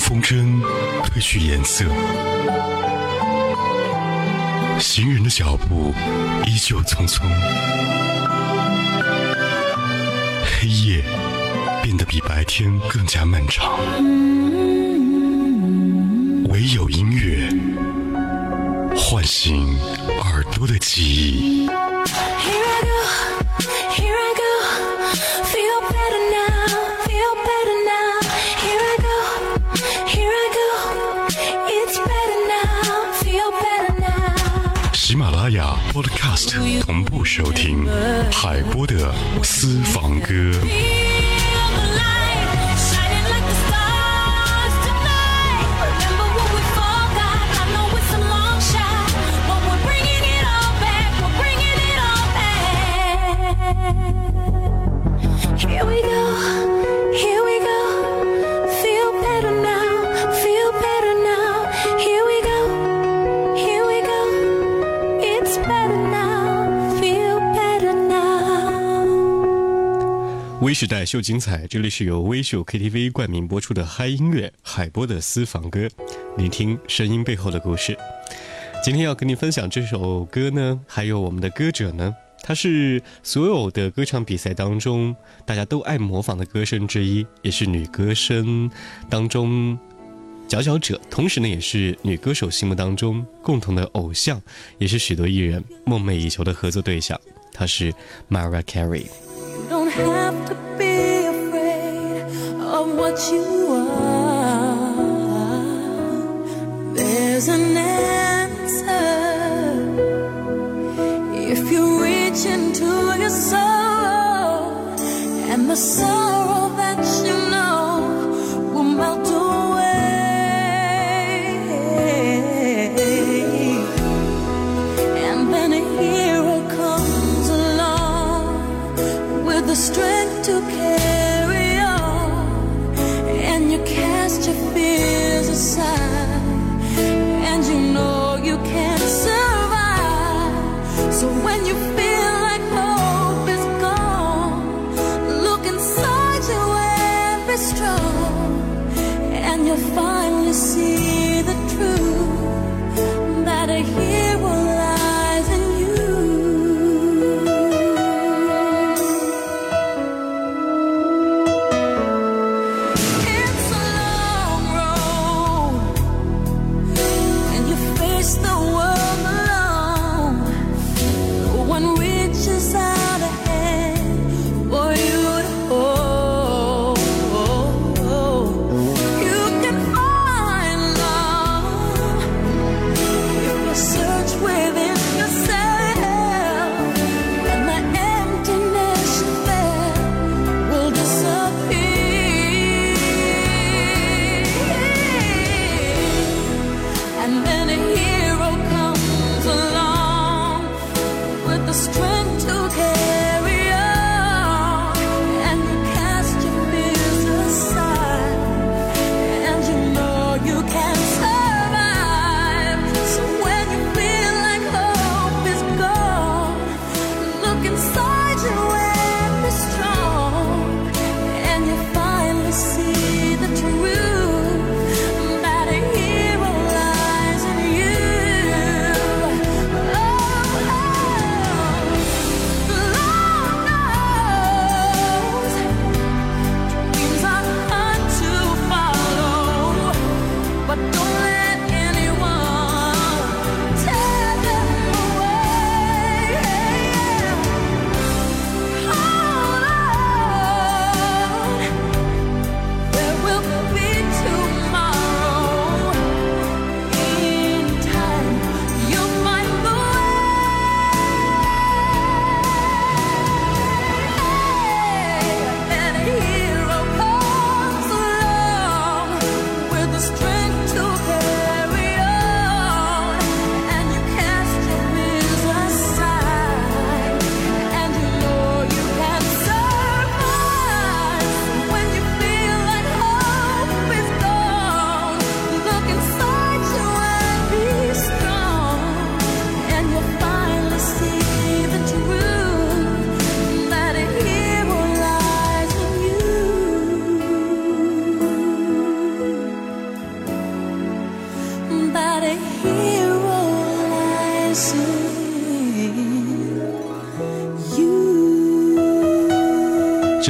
风筝褪去颜色，行人的脚步依旧匆匆，黑夜变得比白天更加漫长，唯有音乐唤醒耳朵的记忆。喜马拉雅 Podcast 同步收听海波的私房歌。 Here we go, here we go, feel better now, feel better now. Here we go, here we go, it's better now, feel better now. 微时代秀精彩，这里是由微秀 KTV 冠名播出的嗨音乐海波的私房歌，聆听声音背后的故事。今天要跟你分享这首歌呢，还有我们的歌者呢，他是所有的歌唱比赛当中大家都爱模仿的歌声之一，也是女歌声当中佼佼者，同时呢也是女歌手心目当中共同的偶像，也是许多艺人梦寐以求的合作对象。她是 Mariah Carey。You don't have to be afraid of what you are. There's an answer.If you reach into your soul, and the sorrow that you know will melt away, and then a hero comes along with the strength to carry on, and you cast your fears aside, and you know you can't survive.So when you feel like hope is gone, look inside you and be strong, and you'll finally see the truth, that a hero lies in you. It's a long road, and you face the world alone.One reaches out a hand for you to hold. You can find love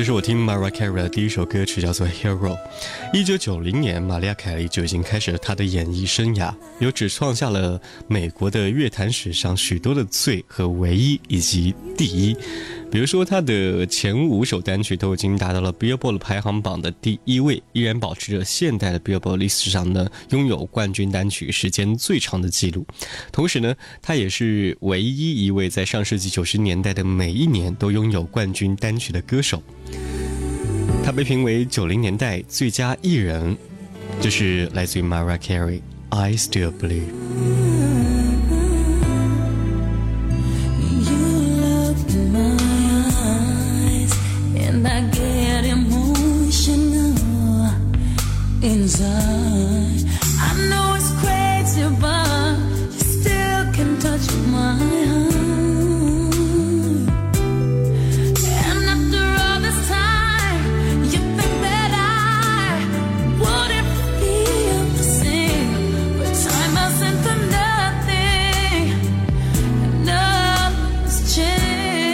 是我听 Mariah Carey 的第一首歌曲，叫做 Hero。 1990年玛丽亚凯莉就已经开始了她的演艺生涯，有只创下了美国的乐坛史上许多的最和唯一以及第一。比如说她的前5首单曲都已经达到了 Billboard 排行榜的第1位，依然保持着现代的 Billboard 历史上呢拥有冠军单曲时间最长的记录。同时呢，她也是唯一一位在上世纪90年代的每一年都拥有冠军单曲的歌手。她被评为90年代最佳艺人，这是来自于 Mariah Carey I Still Believe。 Inside, I know it's crazy, but you still can touch my heart. And after all this time, you think that I wouldn't feel the same, but time hasn't done nothing, and nothing's changed.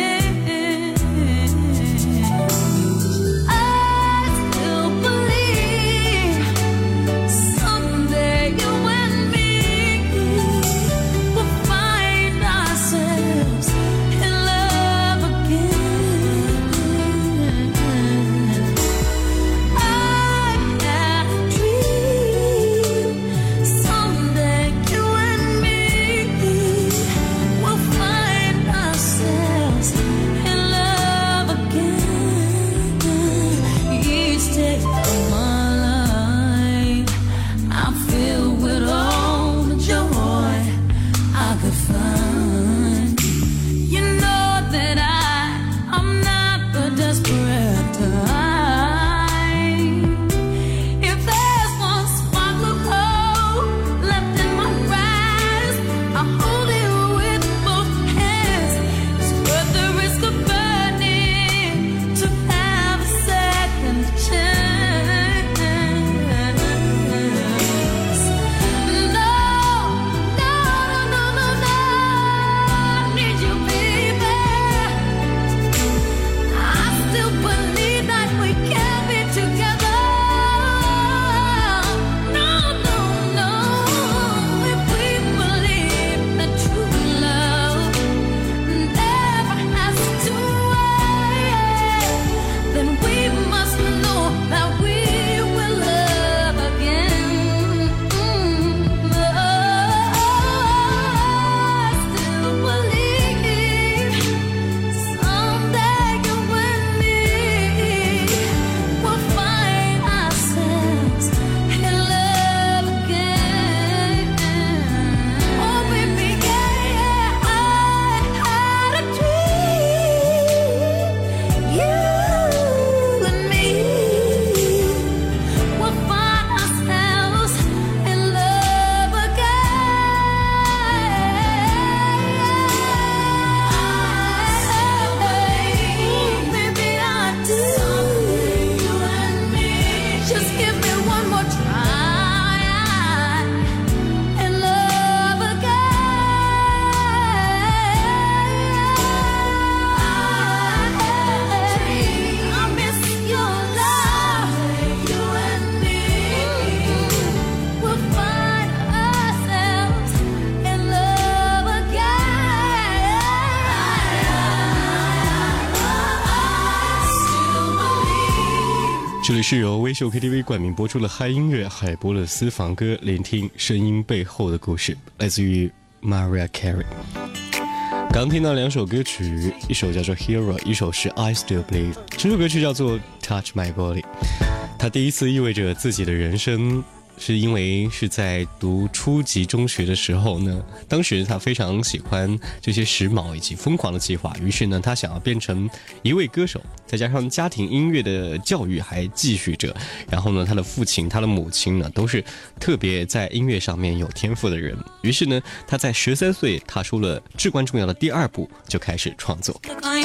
这里是由微秀 KTV 冠名播出的嗨音乐海波勒私房歌，聆听声音背后的故事，来自于 Mariah Carey。 刚听到2首歌曲，一首叫做 Hero， 一首是 I Still Believe。 这首歌曲叫做 Touch My Body。 它第一次意味着自己的人生，是因为是在读初级中学的时候呢，当时他非常喜欢这些时髦以及疯狂的计划，于是呢他想要变成一位歌手，再加上家庭音乐的教育还继续着，然后呢他的父亲他的母亲呢都是特别在音乐上面有天赋的人，于是呢他在13岁踏出了至关重要的第2步，就开始创作。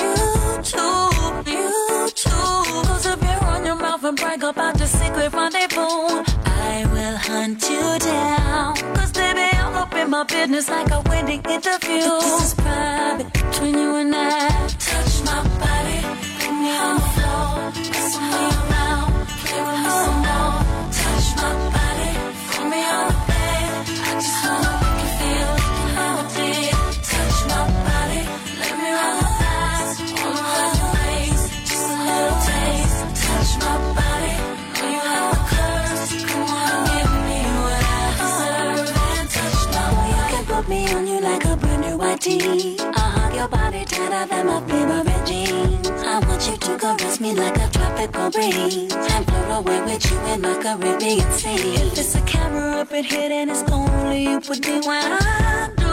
I will hunt you down, 'cause baby I'm up in my business like a wedding interview. This is private between you and I. Touch my body, me on the floor, wrestle me around, play with me some more, touch my body, throw me on the bed. I just wanna make you feel how I did. Touch my body, let me run the thighs, all around your waist, just a little taste. Touch my body, know you have the curves. Come on, give me what I deserve and touch my body. You can put me on you like a brand new white tee. I'll hug your body tighter than my favorite jeans. I want you to caress me like a tropical breeze and float away with you in my Caribbean sea. If it's a camera up in here, then it's only you with me when I do.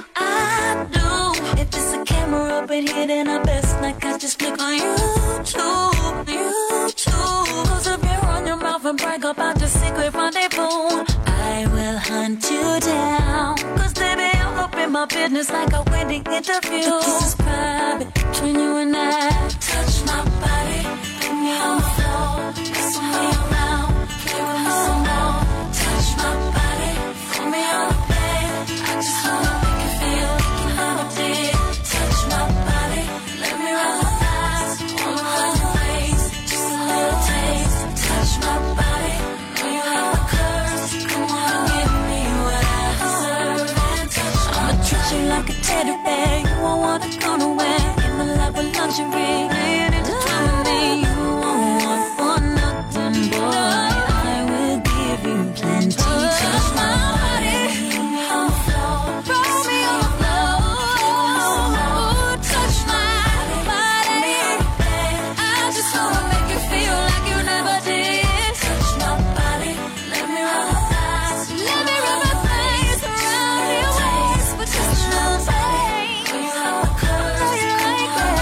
If it's a camera up in here, then I best like I just click on YouTube. Close up your on your mouth and brag about your secret rendezvous. I will hunt you down, cause baby I'll open my business like a wedding interview. But this is private, between you and I. Touch my body, put me on the floor, wrestle me around, play with me some more. Touch my body, throw me on the bed. I just wanna make you feel how I did. Touch my body, let me run the thighs, all around your waist, just a little taste. Touch my body, know you have the curves. Come on, give me what I deserve and touch my I'ma treat you like a teddy bear. You won't wanna go nowhere. In my love with lingerie, laying into me. You won't want for nothing, boy. I will give you plenty. Touch my body, put me on the floor, throw me on the floor. Touch my body, I just wanna make you feel like you never did. Touch my body, let me run the thighs, let me run my face around your waist with just a little taste. You have the curves, know you like that.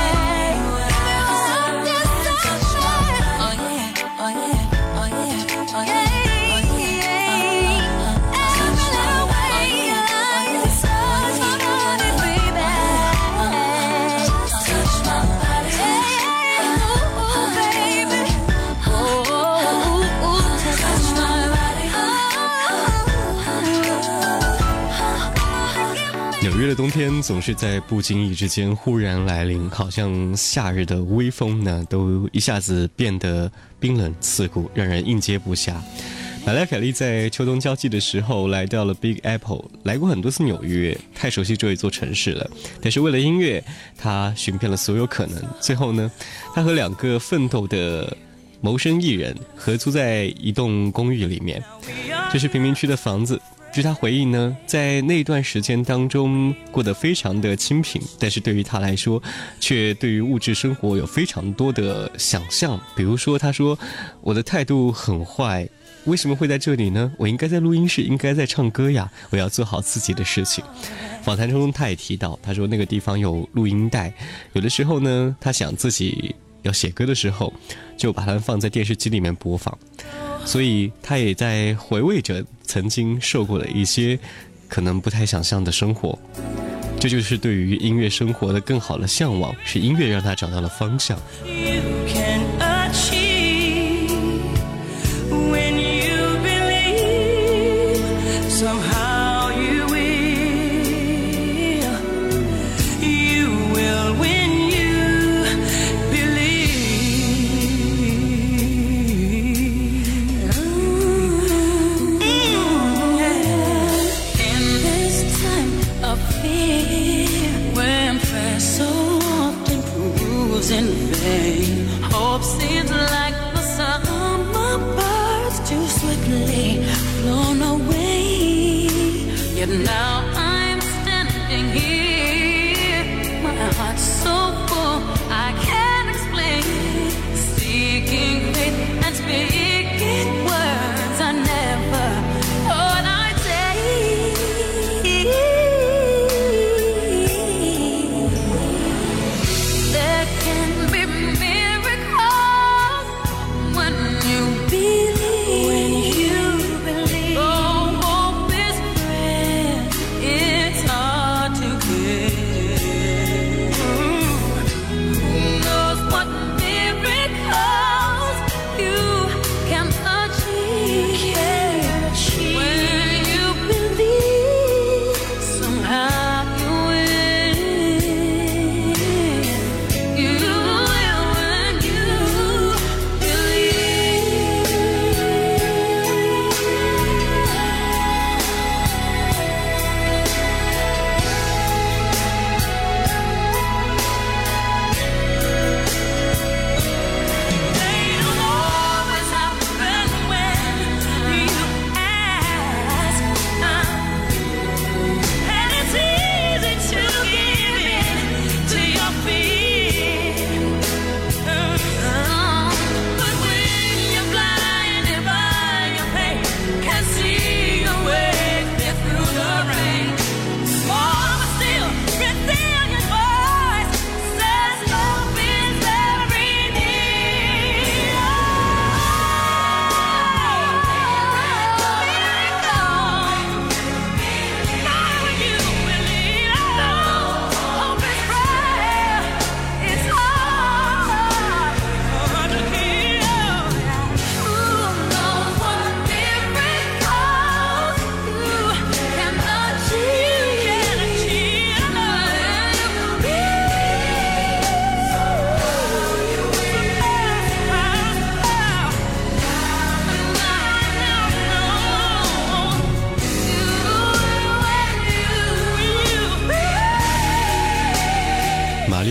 Touch my body, oh yeah, oh yeah, oh yeah, oh yeah. 纽约的冬天总是在不经意之间忽然来临，好像夏日的微风呢，都一下子变得冰冷刺骨，让人应接不暇。玛丽亚·凯莉在秋冬交际的时候来到了 Big Apple， 来过很多次纽约，太熟悉这一座城市了。但是为了音乐，她寻遍了所有可能。最后呢，她和2个奋斗的谋生艺人合租在一栋公寓里面，这是贫民区的房子。据他回忆呢，在那段时间当中过得非常的清贫，但是对于他来说，却对于物质生活有非常多的想象。比如说他说，我的态度很坏，为什么会在这里呢？我应该在录音室，应该在唱歌呀，我要做好自己的事情。访谈中他也提到，他说那个地方有录音带，有的时候呢，他想自己要写歌的时候，就把它们放在电视机里面播放。所以他也在回味着曾经受过的一些可能不太想象的生活，这就是对于音乐生活的更好的向往，是音乐让他找到了方向。 Hope seems like the summer birds too swiftly flown away. Yet now I'm standing here, my heart's so full I can't explain. Seeking faith and speaking words I never thought I'd say. There can be miracles when you believe. Oh, hope is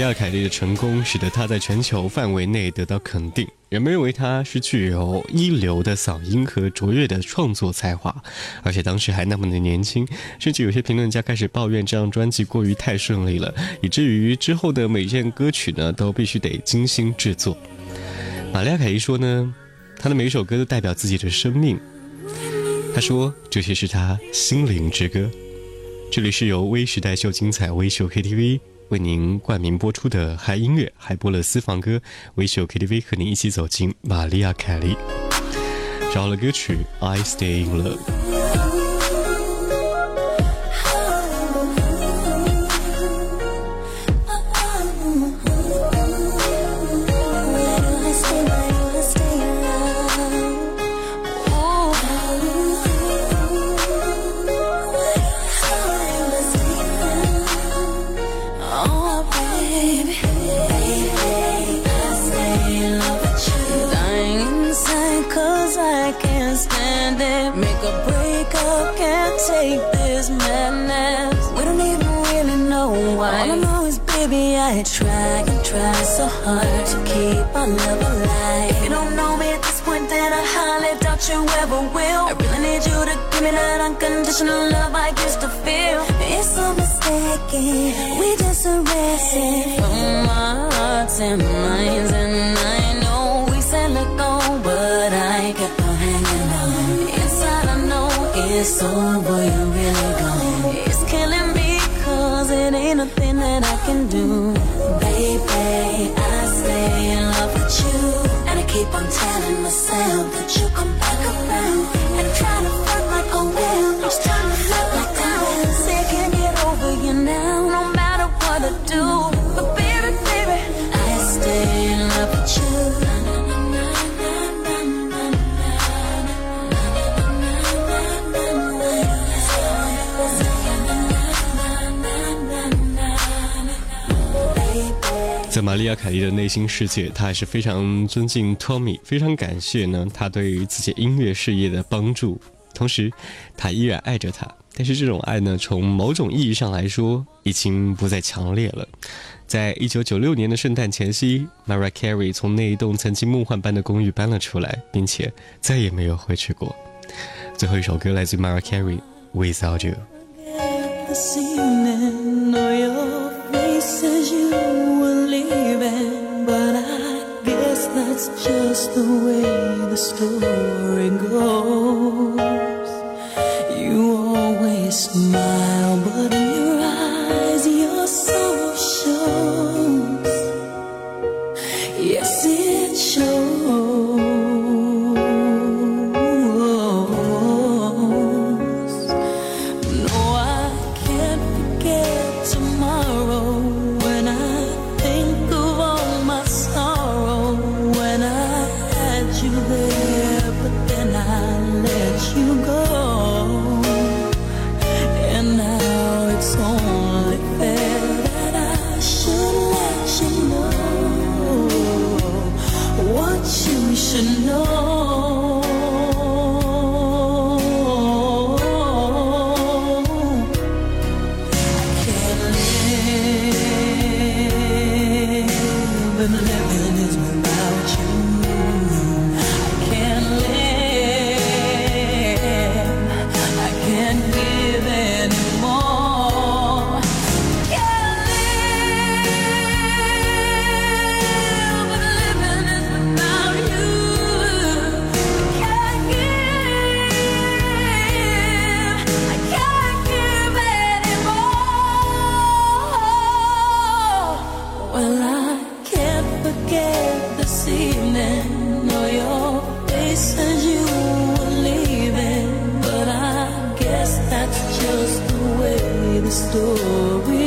亚·凯莉的成功使得她在全球范围内得到肯定，人们认为她是具有一流的嗓音和卓越的创作才华，而且当时还那么的年轻，甚至有些评论家开始抱怨这张专辑过于太顺利了，以至于之后的每件歌曲呢都必须得精心制作。玛利亚·凯莉说呢，她的每一首歌都代表自己的生命，她说这些是她心灵之歌。这里是由微时代秀精彩微秀 KTV 为您冠名播出的嗨音乐海波勒私房歌，微秀 KTV 和您一起走进玛利亚·凯莉。找了歌曲 I Stay in Love。 Make a breakup, can't take this madness. We don't even really know why. All I know is, baby, I try and try so hard to keep our love alive. If you don't know me at this point, then I highly doubt you ever will. I really need you to give me that unconditional love I used to feel. It's so mistaken, we just arrested from our hearts and minds. And I know we said let go, but I kept on hanging on. Inside I know it's over, you're really gone. It's killing me cause it ain't nothing that I can do. Baby, I stay in love with you, and I keep on telling myself that you come back around. And I'm trying to fight like I will, just trying to float like I will. Say I can't get over you now, no matter what I do. But baby, baby, I stay in love with you. Baby 在玛利亚·凯莉的内心世界，她还是非常尊敬 Tommy， 非常感谢呢他对于自己音乐事业的帮助，同时她依然爱着他。但是这种爱呢，从某种意义上来说已经不再强烈了。在1996年的圣诞前夕， Mariah Carey 从那一栋曾经梦幻般的公寓搬了出来，并且再也没有回去过。最后一首歌来自 Mariah Carey Without You。 This evening, know your face as you were leaving, but I guess that's just the way the story goes. You always smile, but in your eyes your soul shows. Yes, it shows. No, I can't forget tomorrow when I think of all my sorrow. When I had you there, but then I let you go. And now it's only fair that I should let you know what you should know. I can't live, and living is without you. I can't live, I can't give anymore. Can't live, but living is without you. Can't give, I can't give anymore. Well, I can't forget this evening, know your face as you were leaving, but I guess that's just the way the story